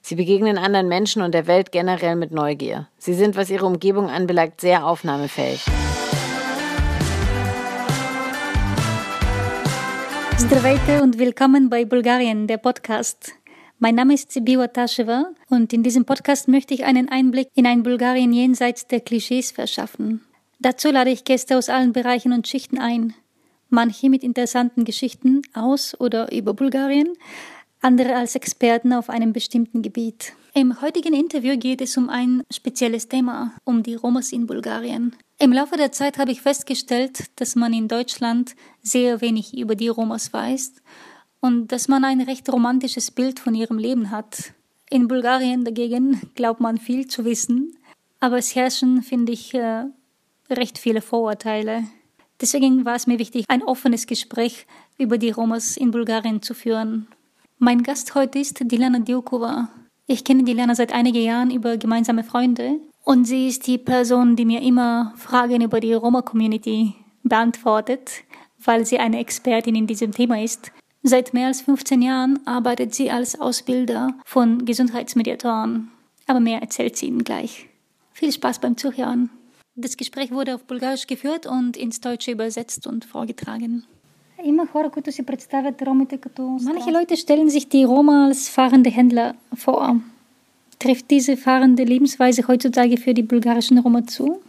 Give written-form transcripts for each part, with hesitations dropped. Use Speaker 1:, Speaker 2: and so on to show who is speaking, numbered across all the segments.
Speaker 1: Sie begegnen anderen Menschen und der Welt generell mit Neugier. Sie sind, was ihre Umgebung anbelangt, sehr aufnahmefähig.
Speaker 2: Здравейте und willkommen bei Bulgarien, der Podcast. Mein Name ist Sibiwa Taschewa und in diesem Podcast möchte ich einen Einblick in ein Bulgarien jenseits der Klischees verschaffen. Dazu lade ich Gäste aus allen Bereichen und Schichten ein. Manche mit interessanten Geschichten aus oder über Bulgarien, andere als Experten auf einem bestimmten Gebiet. Im heutigen Interview geht es um ein spezielles Thema, um die Romas in Bulgarien. Im Laufe der Zeit habe ich festgestellt, dass man in Deutschland sehr wenig über die Romas weiß und dass man ein recht romantisches Bild von ihrem Leben hat. In Bulgarien dagegen glaubt man viel zu wissen, aber es herrschen, finde ich, recht viele Vorurteile. Deswegen war es mir wichtig, ein offenes Gespräch über die Romas in Bulgarien zu führen. Mein Gast heute ist Diljana Diukova. Ich kenne Diljana seit einigen Jahren über gemeinsame Freunde und sie ist die Person, die mir immer Fragen über die Roma-Community beantwortet, weil sie eine Expertin in diesem Thema ist. Seit mehr als 15 Jahren arbeitet sie als Ausbilder von Gesundheitsmediatoren. Aber mehr erzählt sie Ihnen gleich. Viel Spaß beim Zuhören. Das Gespräch wurde auf Bulgarisch geführt und ins Deutsche übersetzt und vorgetragen. Manche Leute stellen sich die Roma als fahrende Händler vor. Trifft diese fahrende Lebensweise heutzutage für die bulgarischen Roma zu?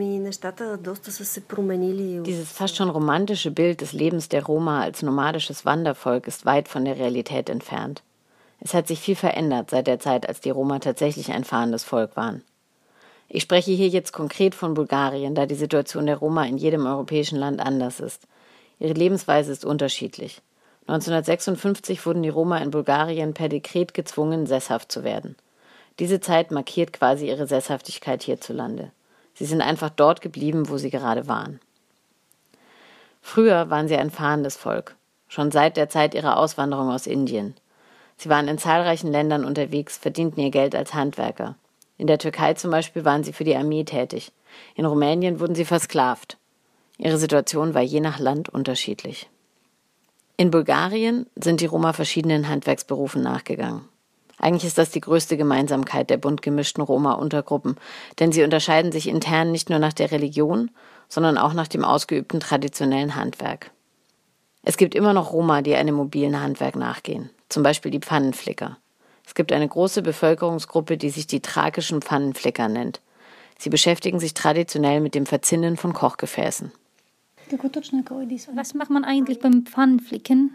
Speaker 1: Dieses fast schon romantische Bild des Lebens der Roma als nomadisches Wandervolk ist weit von der Realität entfernt. Es hat sich viel verändert seit der Zeit, als die Roma tatsächlich ein fahrendes Volk waren. Ich spreche hier jetzt konkret von Bulgarien, da die Situation der Roma in jedem europäischen Land anders ist. Ihre Lebensweise ist unterschiedlich. 1956 wurden die Roma in Bulgarien per Dekret gezwungen, sesshaft zu werden. Diese Zeit markiert quasi ihre Sesshaftigkeit hierzulande. Sie sind einfach dort geblieben, wo sie gerade waren. Früher waren sie ein fahrendes Volk, schon seit der Zeit ihrer Auswanderung aus Indien. Sie waren in zahlreichen Ländern unterwegs, verdienten ihr Geld als Handwerker. In der Türkei zum Beispiel waren sie für die Armee tätig. In Rumänien wurden sie versklavt. Ihre Situation war je nach Land unterschiedlich. In Bulgarien sind die Roma verschiedenen Handwerksberufen nachgegangen. Eigentlich ist das die größte Gemeinsamkeit der bunt gemischten Roma-Untergruppen, denn sie unterscheiden sich intern nicht nur nach der Religion, sondern auch nach dem ausgeübten traditionellen Handwerk. Es gibt immer noch Roma, die einem mobilen Handwerk nachgehen, zum Beispiel die Pfannenflicker. Es gibt eine große Bevölkerungsgruppe, die sich die thrakischen Pfannenflicker nennt. Sie beschäftigen sich traditionell mit dem Verzinnen von Kochgefäßen.
Speaker 2: Was macht man eigentlich beim Pfannenflicken?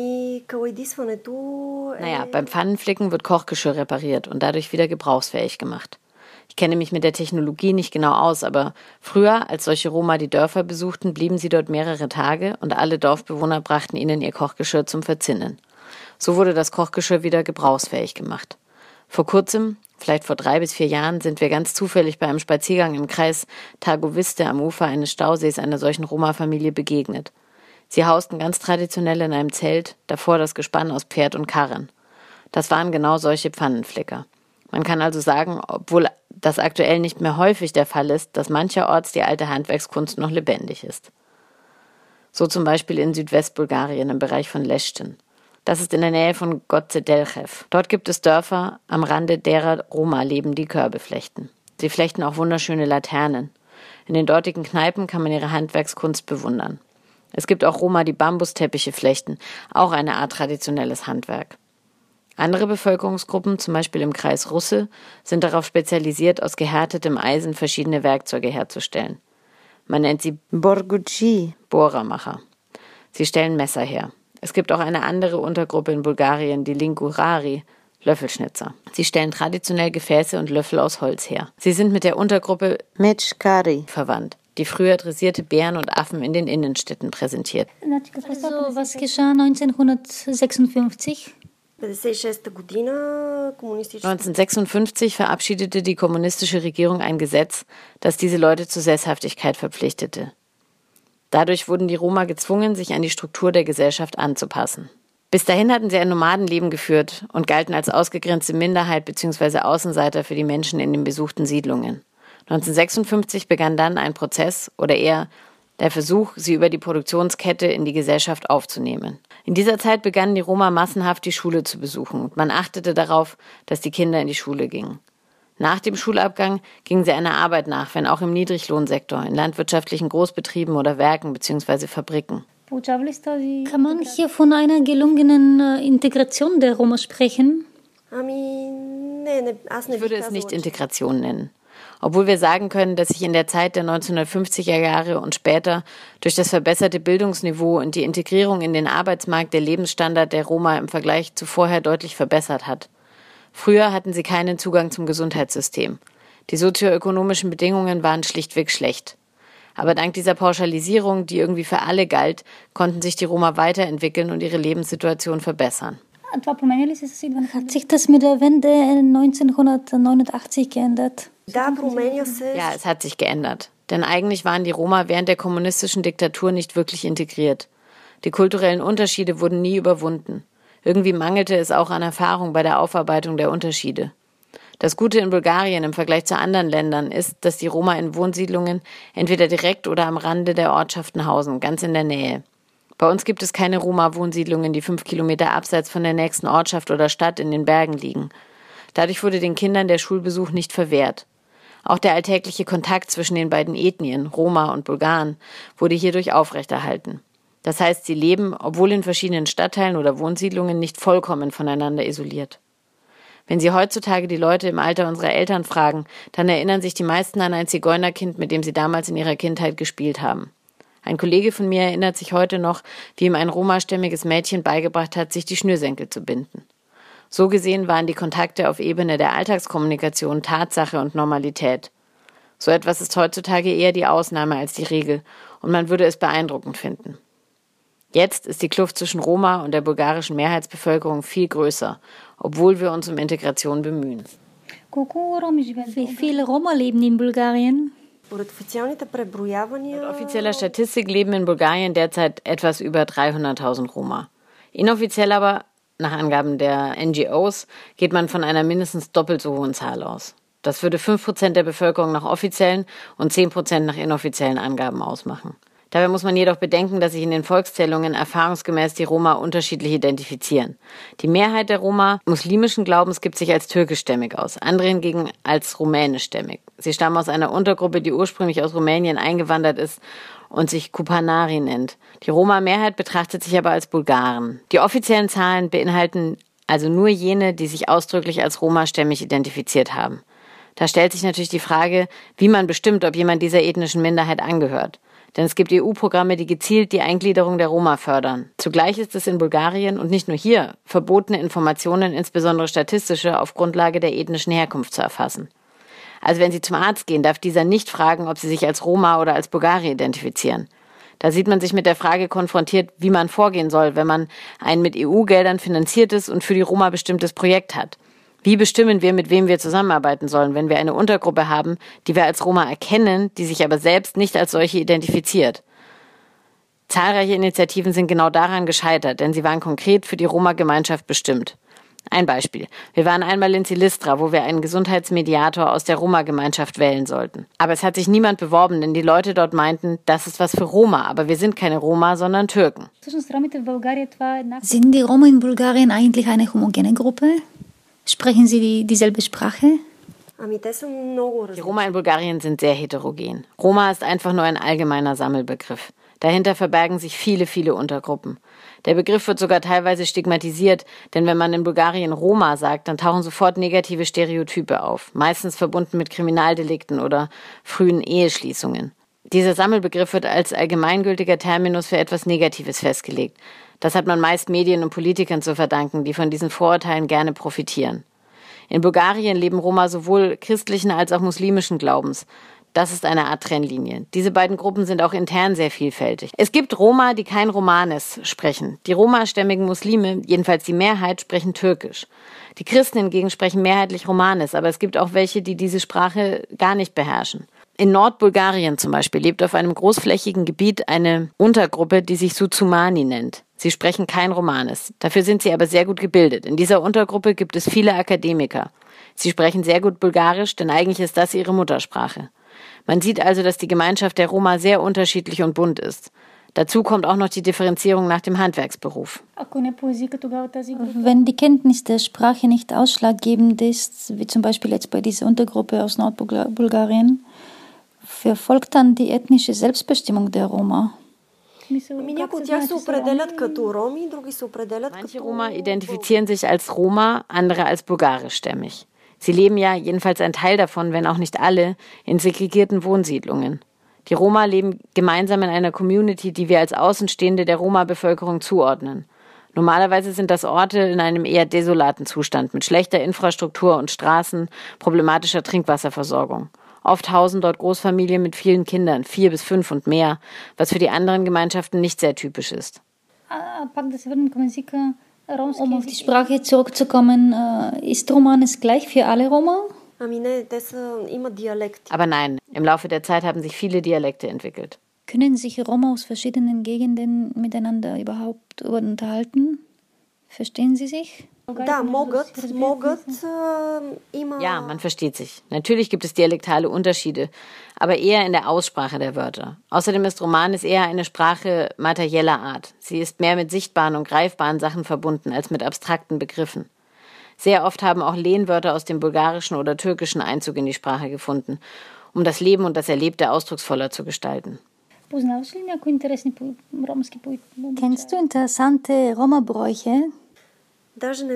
Speaker 1: Beim Pfannenflicken wird Kochgeschirr repariert und dadurch wieder gebrauchsfähig gemacht. Ich kenne mich mit der Technologie nicht genau aus, aber früher, als solche Roma die Dörfer besuchten, blieben sie dort mehrere Tage und alle Dorfbewohner brachten ihnen ihr Kochgeschirr zum Verzinnen. So wurde das Kochgeschirr wieder gebrauchsfähig gemacht. Vor kurzem, vielleicht vor 3 bis 4 Jahren, sind wir ganz zufällig bei einem Spaziergang im Kreis Targoviste am Ufer eines Stausees einer solchen Roma-Familie begegnet. Sie hausten ganz traditionell in einem Zelt, davor das Gespann aus Pferd und Karren. Das waren genau solche Pfannenflicker. Man kann also sagen, obwohl das aktuell nicht mehr häufig der Fall ist, dass mancherorts die alte Handwerkskunst noch lebendig ist. So zum Beispiel in Südwestbulgarien im Bereich von Leschten. Das ist in der Nähe von Goce Delchev. Dort gibt es Dörfer, am Rande derer Roma leben, die Körbe flechten. Sie flechten auch wunderschöne Laternen. In den dortigen Kneipen kann man ihre Handwerkskunst bewundern. Es gibt auch Roma, die Bambusteppiche flechten, auch eine Art traditionelles Handwerk. Andere Bevölkerungsgruppen, zum Beispiel im Kreis Russe, sind darauf spezialisiert, aus gehärtetem Eisen verschiedene Werkzeuge herzustellen. Man nennt sie Borguci, Bohrermacher. Sie stellen Messer her. Es gibt auch eine andere Untergruppe in Bulgarien, die Lingurari, Löffelschnitzer. Sie stellen traditionell Gefäße und Löffel aus Holz her. Sie sind mit der Untergruppe Mechkari verwandt, die früher dressierte Bären und Affen in den Innenstädten präsentiert.
Speaker 2: Also, was geschah 1956?
Speaker 1: 1956 verabschiedete die kommunistische Regierung ein Gesetz, das diese Leute zur Sesshaftigkeit verpflichtete. Dadurch wurden die Roma gezwungen, sich an die Struktur der Gesellschaft anzupassen. Bis dahin hatten sie ein Nomadenleben geführt und galten als ausgegrenzte Minderheit bzw. Außenseiter für die Menschen in den besuchten Siedlungen. 1956 begann dann ein Prozess oder eher Der Versuch, sie über die Produktionskette in die Gesellschaft aufzunehmen. In dieser Zeit begannen die Roma massenhaft die Schule zu besuchen und man achtete darauf, dass die Kinder in die Schule gingen. Nach dem Schulabgang gingen sie einer Arbeit nach, wenn auch im Niedriglohnsektor, in landwirtschaftlichen Großbetrieben oder Werken bzw. Fabriken.
Speaker 2: Kann man hier von einer gelungenen Integration der Roma sprechen?
Speaker 1: Ich würde es nicht Integration nennen. Obwohl wir sagen können, dass sich in der Zeit der 1950er Jahre und später durch das verbesserte Bildungsniveau und die Integrierung in den Arbeitsmarkt der Lebensstandard der Roma im Vergleich zu vorher deutlich verbessert hat. Früher hatten sie keinen Zugang zum Gesundheitssystem. Die sozioökonomischen Bedingungen waren schlichtweg schlecht. Aber dank dieser Pauschalisierung, die irgendwie für alle galt, konnten sich die Roma weiterentwickeln und ihre Lebenssituation verbessern.
Speaker 2: Hat sich das mit der Wende 1989 geändert?
Speaker 1: Ja, es hat sich geändert. Denn eigentlich waren die Roma während der kommunistischen Diktatur nicht wirklich integriert. Die kulturellen Unterschiede wurden nie überwunden. Irgendwie mangelte es auch an Erfahrung bei der Aufarbeitung der Unterschiede. Das Gute in Bulgarien im Vergleich zu anderen Ländern ist, dass die Roma in Wohnsiedlungen entweder direkt oder am Rande der Ortschaften hausen, ganz in der Nähe. Bei uns gibt es keine Roma-Wohnsiedlungen, die 5 Kilometer abseits von der nächsten Ortschaft oder Stadt in den Bergen liegen. Dadurch wurde den Kindern der Schulbesuch nicht verwehrt. Auch der alltägliche Kontakt zwischen den beiden Ethnien, Roma und Bulgaren, wurde hierdurch aufrechterhalten. Das heißt, sie leben, obwohl in verschiedenen Stadtteilen oder Wohnsiedlungen, nicht vollkommen voneinander isoliert. Wenn Sie heutzutage die Leute im Alter unserer Eltern fragen, dann erinnern sich die meisten an ein Zigeunerkind, mit dem sie damals in ihrer Kindheit gespielt haben. Ein Kollege von mir erinnert sich heute noch, wie ihm ein romastämmiges Mädchen beigebracht hat, sich die Schnürsenkel zu binden. So gesehen waren die Kontakte auf Ebene der Alltagskommunikation Tatsache und Normalität. So etwas ist heutzutage eher die Ausnahme als die Regel und man würde es beeindruckend finden. Jetzt ist die Kluft zwischen Roma und der bulgarischen Mehrheitsbevölkerung viel größer, obwohl wir uns um Integration bemühen.
Speaker 2: Wie viele Roma leben in Bulgarien?
Speaker 1: Laut offizieller Statistik leben in Bulgarien derzeit etwas über 300.000 Roma. Inoffiziell aber, nach Angaben der NGOs, geht man von einer mindestens doppelt so hohen Zahl aus. Das würde 5% der Bevölkerung nach offiziellen und 10% nach inoffiziellen Angaben ausmachen. Dabei muss man jedoch bedenken, dass sich in den Volkszählungen erfahrungsgemäß die Roma unterschiedlich identifizieren. Die Mehrheit der Roma muslimischen Glaubens gibt sich als türkischstämmig aus, andere hingegen als rumänischstämmig. Sie stammen aus einer Untergruppe, die ursprünglich aus Rumänien eingewandert ist und sich Kupanari nennt. Die Roma-Mehrheit betrachtet sich aber als Bulgaren. Die offiziellen Zahlen beinhalten also nur jene, die sich ausdrücklich als romastämmig identifiziert haben. Da stellt sich natürlich die Frage, wie man bestimmt, ob jemand dieser ethnischen Minderheit angehört. Denn es gibt EU-Programme, die gezielt die Eingliederung der Roma fördern. Zugleich ist es in Bulgarien und nicht nur hier verboten, Informationen, insbesondere statistische, auf Grundlage der ethnischen Herkunft zu erfassen. Also wenn Sie zum Arzt gehen, darf dieser nicht fragen, ob Sie sich als Roma oder als Bulgari identifizieren. Da sieht man sich mit der Frage konfrontiert, wie man vorgehen soll, wenn man ein mit EU-Geldern finanziertes und für die Roma bestimmtes Projekt hat. Wie bestimmen wir, mit wem wir zusammenarbeiten sollen, wenn wir eine Untergruppe haben, die wir als Roma erkennen, die sich aber selbst nicht als solche identifiziert? Zahlreiche Initiativen sind genau daran gescheitert, denn sie waren konkret für die Roma-Gemeinschaft bestimmt. Ein Beispiel. Wir waren einmal in Silistra, wo wir einen Gesundheitsmediator aus der Roma-Gemeinschaft wählen sollten. Aber es hat sich niemand beworben, denn die Leute dort meinten, das ist was für Roma, aber wir sind keine Roma, sondern Türken.
Speaker 2: Sind die Roma in Bulgarien eigentlich eine homogene Gruppe? Sprechen Sie dieselbe Sprache?
Speaker 1: Die Roma in Bulgarien sind sehr heterogen. Roma ist einfach nur ein allgemeiner Sammelbegriff. Dahinter verbergen sich viele, viele Untergruppen. Der Begriff wird sogar teilweise stigmatisiert, denn wenn man in Bulgarien Roma sagt, dann tauchen sofort negative Stereotype auf, meistens verbunden mit Kriminaldelikten oder frühen Eheschließungen. Dieser Sammelbegriff wird als allgemeingültiger Terminus für etwas Negatives festgelegt. Das hat man meist Medien und Politikern zu verdanken, die von diesen Vorurteilen gerne profitieren. In Bulgarien leben Roma sowohl christlichen als auch muslimischen Glaubens. Das ist eine Art Trennlinie. Diese beiden Gruppen sind auch intern sehr vielfältig. Es gibt Roma, die kein Romanes sprechen. Die romastämmigen Muslime, jedenfalls die Mehrheit, sprechen Türkisch. Die Christen hingegen sprechen mehrheitlich Romanes, aber es gibt auch welche, die diese Sprache gar nicht beherrschen. In Nordbulgarien zum Beispiel lebt auf einem großflächigen Gebiet eine Untergruppe, die sich Suzumani nennt. Sie sprechen kein Romanes. Dafür sind sie aber sehr gut gebildet. In dieser Untergruppe gibt es viele Akademiker. Sie sprechen sehr gut Bulgarisch, denn eigentlich ist das ihre Muttersprache. Man sieht also, dass die Gemeinschaft der Roma sehr unterschiedlich und bunt ist. Dazu kommt auch noch die Differenzierung nach dem Handwerksberuf.
Speaker 2: Wenn die Kenntnis der Sprache nicht ausschlaggebend ist, wie zum Beispiel jetzt bei dieser Untergruppe aus Nordbulgarien, verfolgt dann die ethnische Selbstbestimmung der Roma?
Speaker 1: Manche Roma identifizieren sich als Roma, andere als bulgarischstämmig. Sie leben ja, jedenfalls ein Teil davon, wenn auch nicht alle, in segregierten Wohnsiedlungen. Die Roma leben gemeinsam in einer Community, die wir als Außenstehende der Roma-Bevölkerung zuordnen. Normalerweise sind das Orte in einem eher desolaten Zustand mit schlechter Infrastruktur und Straßen, problematischer Trinkwasserversorgung. Oft hausen dort Großfamilien mit vielen Kindern, 4 bis 5 und mehr, was für die anderen Gemeinschaften nicht sehr typisch ist.
Speaker 2: Um auf die Sprache zurückzukommen, ist Romanes gleich für alle Roma?
Speaker 1: Aber nein, im Laufe der Zeit haben sich viele Dialekte entwickelt.
Speaker 2: Können sich Roma aus verschiedenen Gegenden miteinander überhaupt unterhalten? Verstehen sie sich?
Speaker 1: Ja, man versteht sich. Natürlich gibt es dialektale Unterschiede, aber eher in der Aussprache der Wörter. Außerdem ist Romanes eher eine Sprache materieller Art. Sie ist mehr mit sichtbaren und greifbaren Sachen verbunden als mit abstrakten Begriffen. Sehr oft haben auch Lehnwörter aus dem Bulgarischen oder Türkischen Einzug in die Sprache gefunden, um das Leben und das Erlebte ausdrucksvoller zu gestalten.
Speaker 2: Kennst du interessante Roma-Bräuche?
Speaker 1: Ich bin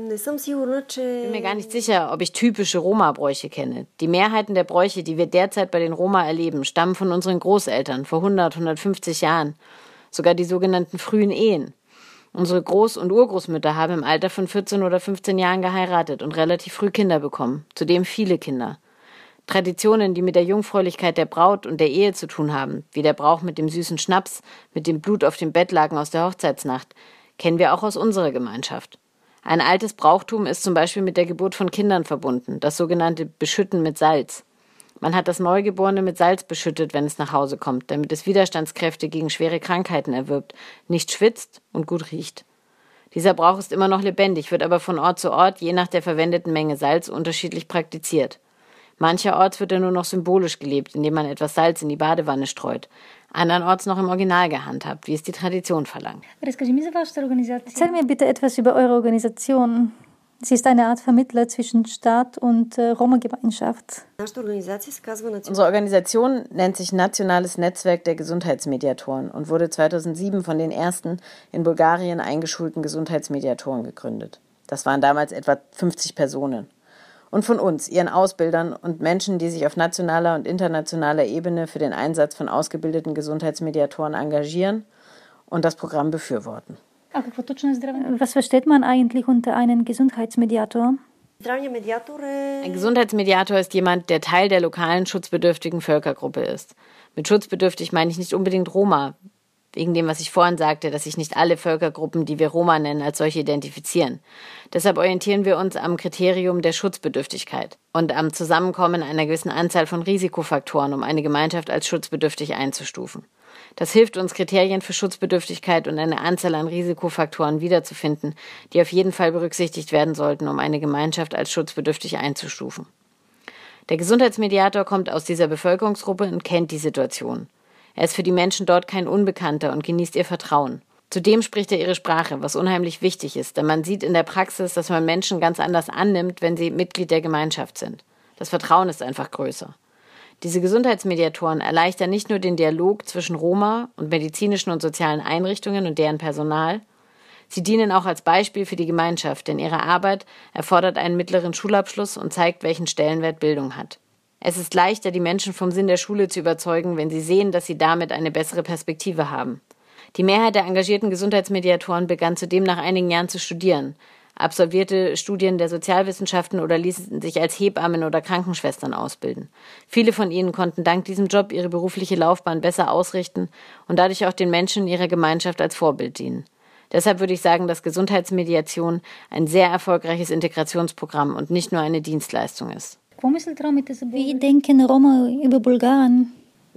Speaker 1: mir gar nicht sicher, ob ich typische Roma-Bräuche kenne. Die Mehrheiten der Bräuche, die wir derzeit bei den Roma erleben, stammen von unseren Großeltern vor 100, 150 Jahren. Sogar die sogenannten frühen Ehen. Unsere Groß- und Urgroßmütter haben im Alter von 14 oder 15 Jahren geheiratet und relativ früh Kinder bekommen, zudem viele Kinder. Traditionen, die mit der Jungfräulichkeit der Braut und der Ehe zu tun haben, wie der Brauch mit dem süßen Schnaps, mit dem Blut auf dem Bettlaken aus der Hochzeitsnacht, kennen wir auch aus unserer Gemeinschaft. Ein altes Brauchtum ist zum Beispiel mit der Geburt von Kindern verbunden, das sogenannte Beschütten mit Salz. Man hat das Neugeborene mit Salz beschüttet, wenn es nach Hause kommt, damit es Widerstandskräfte gegen schwere Krankheiten erwirbt, nicht schwitzt und gut riecht. Dieser Brauch ist immer noch lebendig, wird aber von Ort zu Ort, je nach der verwendeten Menge Salz, unterschiedlich praktiziert. Mancherorts wird er nur noch symbolisch gelebt, indem man etwas Salz in die Badewanne streut. Andernorts noch im Original gehandhabt, wie es die Tradition verlangt.
Speaker 2: Erzähl mir bitte etwas über eure Organisation. Sie ist eine Art Vermittler zwischen Staat und Roma-Gemeinschaft.
Speaker 1: Unsere Organisation nennt sich Nationales Netzwerk der Gesundheitsmediatoren und wurde 2007 von den ersten in Bulgarien eingeschulten Gesundheitsmediatoren gegründet. Das waren damals etwa 50 Personen. Und von uns, ihren Ausbildern und Menschen, die sich auf nationaler und internationaler Ebene für den Einsatz von ausgebildeten Gesundheitsmediatoren engagieren und das Programm befürworten.
Speaker 2: Was versteht man eigentlich unter einem Gesundheitsmediator?
Speaker 1: Ein Gesundheitsmediator ist jemand, der Teil der lokalen schutzbedürftigen Völkergruppe ist. Mit schutzbedürftig meine ich nicht unbedingt Roma, wegen dem, was ich vorhin sagte, dass sich nicht alle Völkergruppen, die wir Roma nennen, als solche identifizieren. Deshalb orientieren wir uns am Kriterium der Schutzbedürftigkeit und am Zusammenkommen einer gewissen Anzahl von Risikofaktoren, um eine Gemeinschaft als schutzbedürftig einzustufen. Das hilft uns, Kriterien für Schutzbedürftigkeit und eine Anzahl an Risikofaktoren wiederzufinden, die auf jeden Fall berücksichtigt werden sollten, um eine Gemeinschaft als schutzbedürftig einzustufen. Der Gesundheitsmediator kommt aus dieser Bevölkerungsgruppe und kennt die Situation. Er ist für die Menschen dort kein Unbekannter und genießt ihr Vertrauen. Zudem spricht er ihre Sprache, was unheimlich wichtig ist, denn man sieht in der Praxis, dass man Menschen ganz anders annimmt, wenn sie Mitglied der Gemeinschaft sind. Das Vertrauen ist einfach größer. Diese Gesundheitsmediatoren erleichtern nicht nur den Dialog zwischen Roma und medizinischen und sozialen Einrichtungen und deren Personal, sie dienen auch als Beispiel für die Gemeinschaft, denn ihre Arbeit erfordert einen mittleren Schulabschluss und zeigt, welchen Stellenwert Bildung hat. Es ist leichter, die Menschen vom Sinn der Schule zu überzeugen, wenn sie sehen, dass sie damit eine bessere Perspektive haben. Die Mehrheit der engagierten Gesundheitsmediatoren begann zudem nach einigen Jahren zu studieren, absolvierte Studien der Sozialwissenschaften oder ließen sich als Hebammen oder Krankenschwestern ausbilden. Viele von ihnen konnten dank diesem Job ihre berufliche Laufbahn besser ausrichten und dadurch auch den Menschen in ihrer Gemeinschaft als Vorbild dienen. Deshalb würde ich sagen, dass Gesundheitsmediation ein sehr erfolgreiches Integrationsprogramm und nicht nur eine Dienstleistung ist.
Speaker 2: Wie denken Roma über Bulgaren?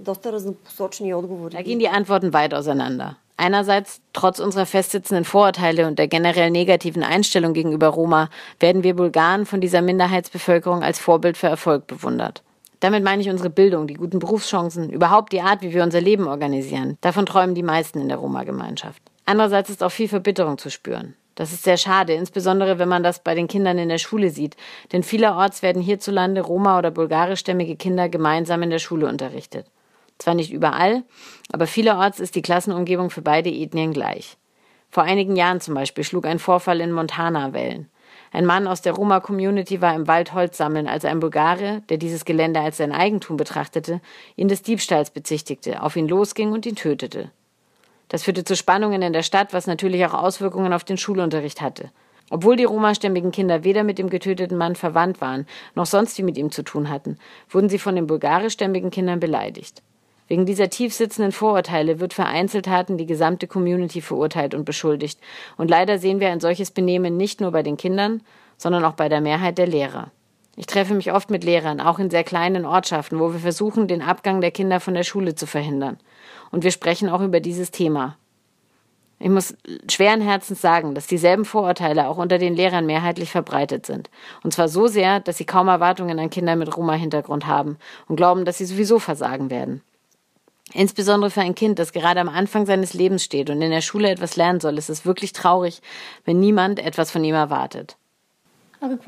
Speaker 1: Da gehen die Antworten weit auseinander. Einerseits, trotz unserer festsitzenden Vorurteile und der generell negativen Einstellung gegenüber Roma, werden wir Bulgaren von dieser Minderheitsbevölkerung als Vorbild für Erfolg bewundert. Damit meine ich unsere Bildung, die guten Berufschancen, überhaupt die Art, wie wir unser Leben organisieren. Davon träumen die meisten in der Roma-Gemeinschaft. Andererseits ist auch viel Verbitterung zu spüren. Das ist sehr schade, insbesondere wenn man das bei den Kindern in der Schule sieht. Denn vielerorts werden hierzulande Roma- oder bulgarischstämmige Kinder gemeinsam in der Schule unterrichtet. Zwar nicht überall, aber vielerorts ist die Klassenumgebung für beide Ethnien gleich. Vor einigen Jahren zum Beispiel schlug ein Vorfall in Montana Wellen. Ein Mann aus der Roma-Community war im Wald Holz sammeln, als ein Bulgare, der dieses Gelände als sein Eigentum betrachtete, ihn des Diebstahls bezichtigte, auf ihn losging und ihn tötete. Das führte zu Spannungen in der Stadt, was natürlich auch Auswirkungen auf den Schulunterricht hatte. Obwohl die romastämmigen Kinder weder mit dem getöteten Mann verwandt waren, noch sonst viel mit ihm zu tun hatten, wurden sie von den bulgarischstämmigen Kindern beleidigt. Wegen dieser tief sitzenden Vorurteile wird für Einzeltaten die gesamte Community verurteilt und beschuldigt. Und leider sehen wir ein solches Benehmen nicht nur bei den Kindern, sondern auch bei der Mehrheit der Lehrer. Ich treffe mich oft mit Lehrern, auch in sehr kleinen Ortschaften, wo wir versuchen, den Abgang der Kinder von der Schule zu verhindern. Und wir sprechen auch über dieses Thema. Ich muss schweren Herzens sagen, dass dieselben Vorurteile auch unter den Lehrern mehrheitlich verbreitet sind. Und zwar so sehr, dass sie kaum Erwartungen an Kinder mit Roma-Hintergrund haben und glauben, dass sie sowieso versagen werden. Insbesondere für ein Kind, das gerade am Anfang seines Lebens steht und in der Schule etwas lernen soll, ist es wirklich traurig, wenn niemand etwas von ihm erwartet.
Speaker 2: Und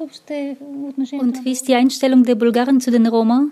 Speaker 2: wie ist die Einstellung der Bulgaren zu den Roma?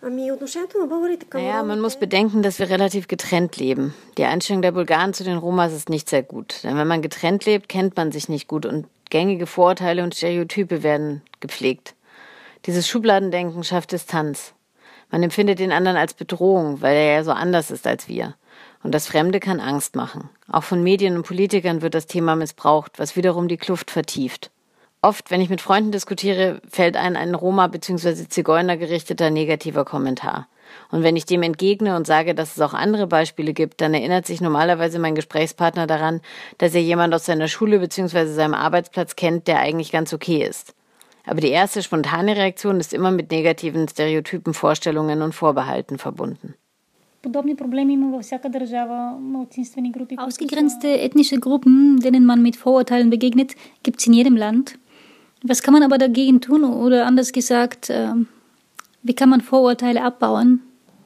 Speaker 1: Naja, man muss bedenken, dass wir relativ getrennt leben. Die Einstellung der Bulgaren zu den Romas ist nicht sehr gut. Denn wenn man getrennt lebt, kennt man sich nicht gut und gängige Vorurteile und Stereotype werden gepflegt. Dieses Schubladendenken schafft Distanz. Man empfindet den anderen als Bedrohung, weil er ja so anders ist als wir. Und das Fremde kann Angst machen. Auch von Medien und Politikern wird das Thema missbraucht, was wiederum die Kluft vertieft. Oft, wenn ich mit Freunden diskutiere, fällt ein Roma- bzw. Zigeuner gerichteter negativer Kommentar. Und wenn ich dem entgegne und sage, dass es auch andere Beispiele gibt, dann erinnert sich normalerweise mein Gesprächspartner daran, dass er jemand aus seiner Schule bzw. seinem Arbeitsplatz kennt, der eigentlich ganz okay ist. Aber die erste spontane Reaktion ist immer mit negativen Stereotypen, Vorstellungen und Vorbehalten verbunden.
Speaker 2: Ausgegrenzte ethnische Gruppen, denen man mit Vorurteilen begegnet, gibt es in jedem Land. Was kann man aber dagegen tun? Oder anders gesagt, wie kann man Vorurteile abbauen?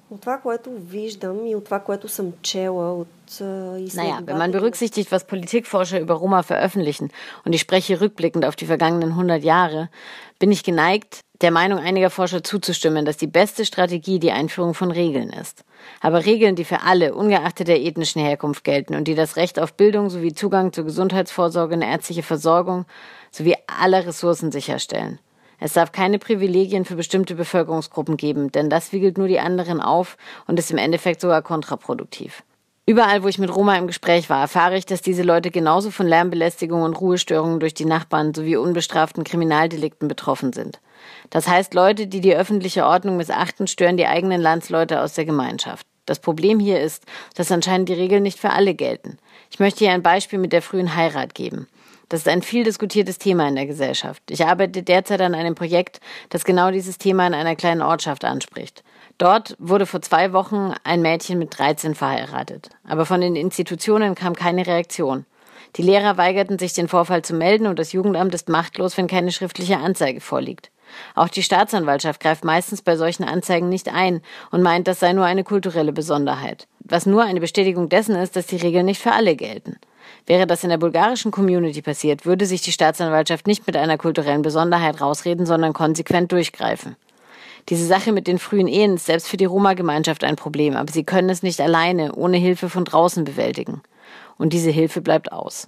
Speaker 1: Naja, wenn man berücksichtigt, was Politikforscher über Roma veröffentlichen, und ich spreche rückblickend auf die vergangenen 100 Jahre, bin ich geneigt, der Meinung einiger Forscher zuzustimmen, dass die beste Strategie die Einführung von Regeln ist. Aber Regeln, die für alle, ungeachtet der ethnischen Herkunft gelten und die das Recht auf Bildung sowie Zugang zur Gesundheitsvorsorge und ärztliche Versorgung sowie aller Ressourcen sicherstellen. Es darf keine Privilegien für bestimmte Bevölkerungsgruppen geben, denn das wiegelt nur die anderen auf und ist im Endeffekt sogar kontraproduktiv. Überall, wo ich mit Roma im Gespräch war, erfahre ich, dass diese Leute genauso von Lärmbelästigung und Ruhestörungen durch die Nachbarn sowie unbestraften Kriminaldelikten betroffen sind. Das heißt, Leute, die die öffentliche Ordnung missachten, stören die eigenen Landsleute aus der Gemeinschaft. Das Problem hier ist, dass anscheinend die Regeln nicht für alle gelten. Ich möchte hier ein Beispiel mit der frühen Heirat geben. Das ist ein viel diskutiertes Thema in der Gesellschaft. Ich arbeite derzeit an einem Projekt, das genau dieses Thema in einer kleinen Ortschaft anspricht. Dort wurde vor 2 Wochen ein Mädchen mit 13 verheiratet. Aber von den Institutionen kam keine Reaktion. Die Lehrer weigerten sich, den Vorfall zu melden und das Jugendamt ist machtlos, wenn keine schriftliche Anzeige vorliegt. Auch die Staatsanwaltschaft greift meistens bei solchen Anzeigen nicht ein und meint, das sei nur eine kulturelle Besonderheit. Was nur eine Bestätigung dessen ist, dass die Regeln nicht für alle gelten. Wäre das in der bulgarischen Community passiert, würde sich die Staatsanwaltschaft nicht mit einer kulturellen Besonderheit rausreden, sondern konsequent durchgreifen. Diese Sache mit den frühen Ehen ist selbst für die Roma-Gemeinschaft ein Problem, aber sie können es nicht alleine, ohne Hilfe von draußen bewältigen. Und diese Hilfe bleibt aus.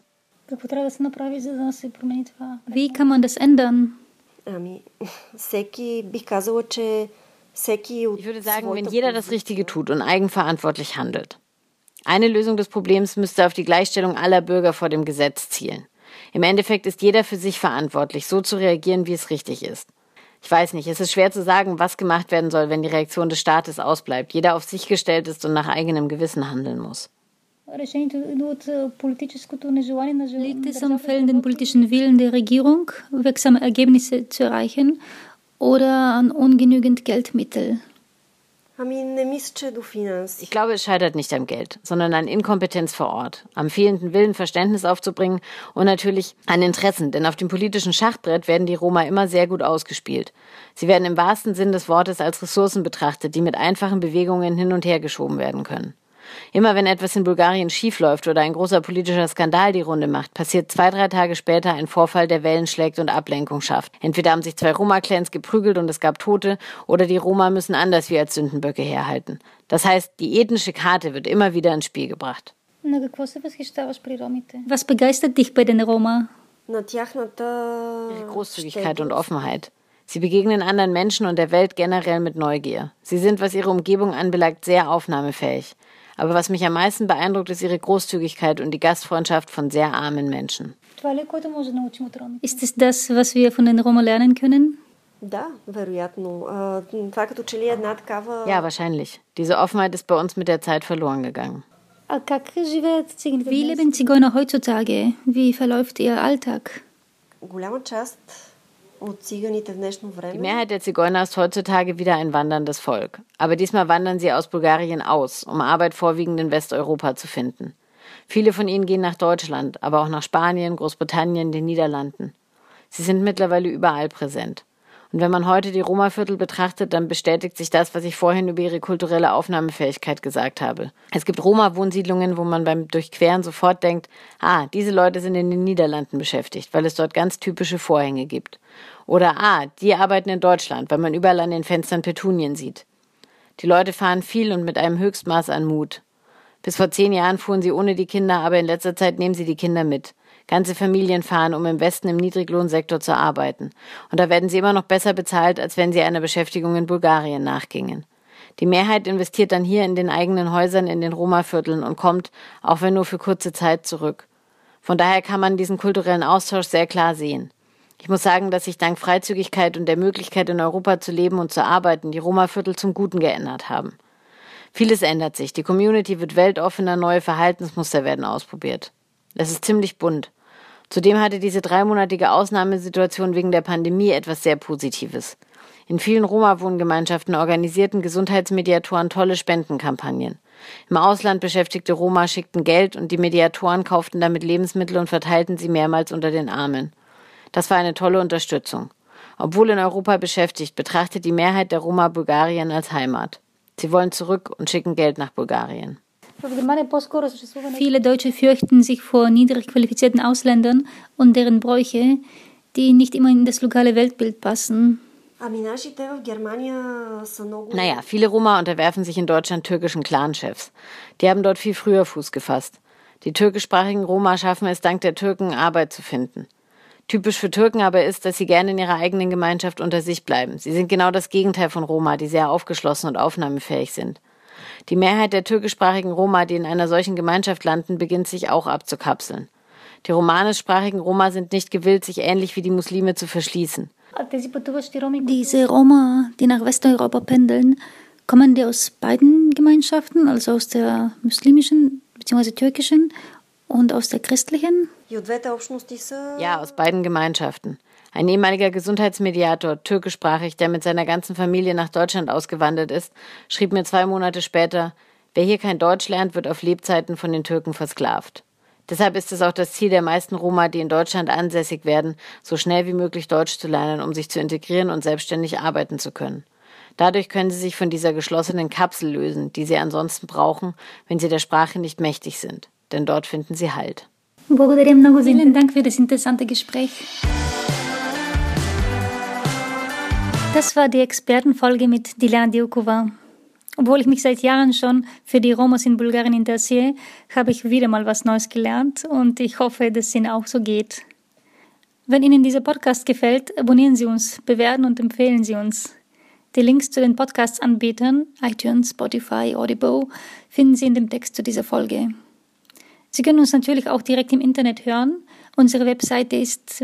Speaker 2: Wie kann man das ändern?
Speaker 1: Ich würde sagen, wenn jeder das Richtige tut und eigenverantwortlich handelt. Eine Lösung des Problems müsste auf die Gleichstellung aller Bürger vor dem Gesetz zielen. Im Endeffekt ist jeder für sich verantwortlich, so zu reagieren, wie es richtig ist. Ich weiß nicht, es ist schwer zu sagen, was gemacht werden soll, wenn die Reaktion des Staates ausbleibt, jeder auf sich gestellt ist und nach eigenem Gewissen handeln muss.
Speaker 2: Liegt es am fehlenden politischen Willen der Regierung, wirksame Ergebnisse zu erreichen, oder an ungenügend Geldmittel?
Speaker 1: Ich glaube, es scheitert nicht am Geld, sondern an Inkompetenz vor Ort, am fehlenden Willen, Verständnis aufzubringen und natürlich an Interessen, denn auf dem politischen Schachbrett werden die Roma immer sehr gut ausgespielt. Sie werden im wahrsten Sinn des Wortes als Ressourcen betrachtet, die mit einfachen Bewegungen hin und her geschoben werden können. Immer wenn etwas in Bulgarien schiefläuft oder ein großer politischer Skandal die Runde macht, passiert 2-3 Tage später ein Vorfall, der Wellen schlägt und Ablenkung schafft. Entweder haben sich 2 Roma-Clans geprügelt und es gab Tote, oder die Roma müssen anders wie als Sündenböcke herhalten. Das heißt, die ethnische Karte wird immer wieder ins Spiel gebracht.
Speaker 2: Was begeistert dich bei den Roma?
Speaker 1: Ihre Großzügigkeit und Offenheit. Sie begegnen anderen Menschen und der Welt generell mit Neugier. Sie sind, was ihre Umgebung anbelangt, sehr aufnahmefähig. Aber was mich am meisten beeindruckt, ist ihre Großzügigkeit und die Gastfreundschaft von sehr armen Menschen.
Speaker 2: Ist es das, was wir von den Roma lernen können?
Speaker 1: Ja, wahrscheinlich. Diese Offenheit ist bei uns mit der Zeit verloren gegangen.
Speaker 2: Wie leben Zigeuner heutzutage? Wie verläuft ihr Alltag?
Speaker 1: Die Mehrheit der Zigeuner ist heutzutage wieder ein wanderndes Volk. Aber diesmal wandern sie aus Bulgarien aus, um Arbeit vorwiegend in Westeuropa zu finden. Viele von ihnen gehen nach Deutschland, aber auch nach Spanien, Großbritannien, den Niederlanden. Sie sind mittlerweile überall präsent. Und wenn man heute die Roma-Viertel betrachtet, dann bestätigt sich das, was ich vorhin über ihre kulturelle Aufnahmefähigkeit gesagt habe. Es gibt Roma-Wohnsiedlungen, wo man beim Durchqueren sofort denkt, diese Leute sind in den Niederlanden beschäftigt, weil es dort ganz typische Vorhänge gibt. Oder die arbeiten in Deutschland, weil man überall an den Fenstern Petunien sieht. Die Leute fahren viel und mit einem Höchstmaß an Mut. Bis vor 10 Jahren fuhren sie ohne die Kinder, aber in letzter Zeit nehmen sie die Kinder mit. Ganze Familien fahren, um im Westen im Niedriglohnsektor zu arbeiten. Und da werden sie immer noch besser bezahlt, als wenn sie einer Beschäftigung in Bulgarien nachgingen. Die Mehrheit investiert dann hier in den eigenen Häusern in den Roma-Vierteln und kommt, auch wenn nur für kurze Zeit, zurück. Von daher kann man diesen kulturellen Austausch sehr klar sehen. Ich muss sagen, dass sich dank Freizügigkeit und der Möglichkeit, in Europa zu leben und zu arbeiten, die Roma-Viertel zum Guten geändert haben. Vieles ändert sich. Die Community wird weltoffener, neue Verhaltensmuster werden ausprobiert. Es ist ziemlich bunt. Zudem hatte diese 3-monatige Ausnahmesituation wegen der Pandemie etwas sehr Positives. In vielen Roma-Wohngemeinschaften organisierten Gesundheitsmediatoren tolle Spendenkampagnen. Im Ausland beschäftigte Roma schickten Geld und die Mediatoren kauften damit Lebensmittel und verteilten sie mehrmals unter den Armen. Das war eine tolle Unterstützung. Obwohl in Europa beschäftigt, betrachtet die Mehrheit der Roma Bulgarien als Heimat. Sie wollen zurück und schicken Geld nach Bulgarien.
Speaker 2: Viele Deutsche fürchten sich vor niedrig qualifizierten Ausländern und deren Bräuche, die nicht immer in das lokale Weltbild passen.
Speaker 1: Viele Roma unterwerfen sich in Deutschland türkischen Clanchefs. Die haben dort viel früher Fuß gefasst. Die türkischsprachigen Roma schaffen es dank der Türken, Arbeit zu finden. Typisch für Türken aber ist, dass sie gerne in ihrer eigenen Gemeinschaft unter sich bleiben. Sie sind genau das Gegenteil von Roma, die sehr aufgeschlossen und aufnahmefähig sind. Die Mehrheit der türkischsprachigen Roma, die in einer solchen Gemeinschaft landen, beginnt sich auch abzukapseln. Die romanischsprachigen Roma sind nicht gewillt, sich ähnlich wie die Muslime zu verschließen.
Speaker 2: Diese Roma, die nach Westeuropa pendeln, kommen die aus beiden Gemeinschaften, also aus der muslimischen bzw. türkischen und aus der christlichen?
Speaker 1: Ja, aus beiden Gemeinschaften. Ein ehemaliger Gesundheitsmediator, türkischsprachig, der mit seiner ganzen Familie nach Deutschland ausgewandert ist, schrieb mir 2 Monate später, wer hier kein Deutsch lernt, wird auf Lebzeiten von den Türken versklavt. Deshalb ist es auch das Ziel der meisten Roma, die in Deutschland ansässig werden, so schnell wie möglich Deutsch zu lernen, um sich zu integrieren und selbstständig arbeiten zu können. Dadurch können sie sich von dieser geschlossenen Kapsel lösen, die sie ansonsten brauchen, wenn sie der Sprache nicht mächtig sind. Denn dort finden sie Halt.
Speaker 2: Vielen Dank für das interessante Gespräch. Das war die Expertenfolge mit Diljana Diukova. Obwohl ich mich seit Jahren schon für die Romos in Bulgarien interessiere, habe ich wieder mal was Neues gelernt und ich hoffe, dass es Ihnen auch so geht. Wenn Ihnen dieser Podcast gefällt, abonnieren Sie uns, bewerten und empfehlen Sie uns. Die Links zu den Podcast-Anbietern, iTunes, Spotify, Audible, finden Sie in dem Text zu dieser Folge. Sie können uns natürlich auch direkt im Internet hören. Unsere Webseite ist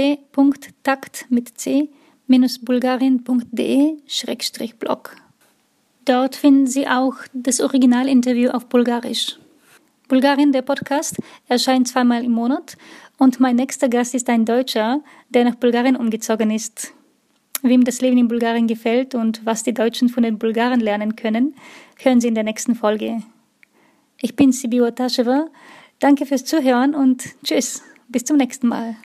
Speaker 2: www.takt-bulgarien.de/blog. Dort finden Sie auch das Originalinterview auf Bulgarisch. Bulgarien, der Podcast, erscheint 2-mal im Monat und mein nächster Gast ist ein Deutscher, der nach Bulgarien umgezogen ist. wem das Leben in Bulgarien gefällt und was die Deutschen von den Bulgaren lernen können, hören Sie in der nächsten Folge. Ich bin Sibiua Taschewa. Danke fürs Zuhören und tschüss. Bis zum nächsten Mal.